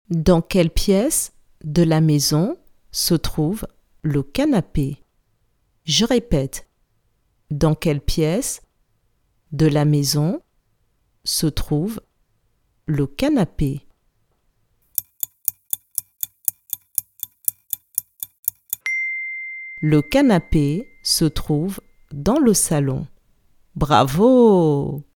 Dans quelle pièce de la maison se trouve le canapé? Je répète. Dans quelle pièce de la maison se trouve le canapé? Le canapé se trouve dans le salon. Bravo!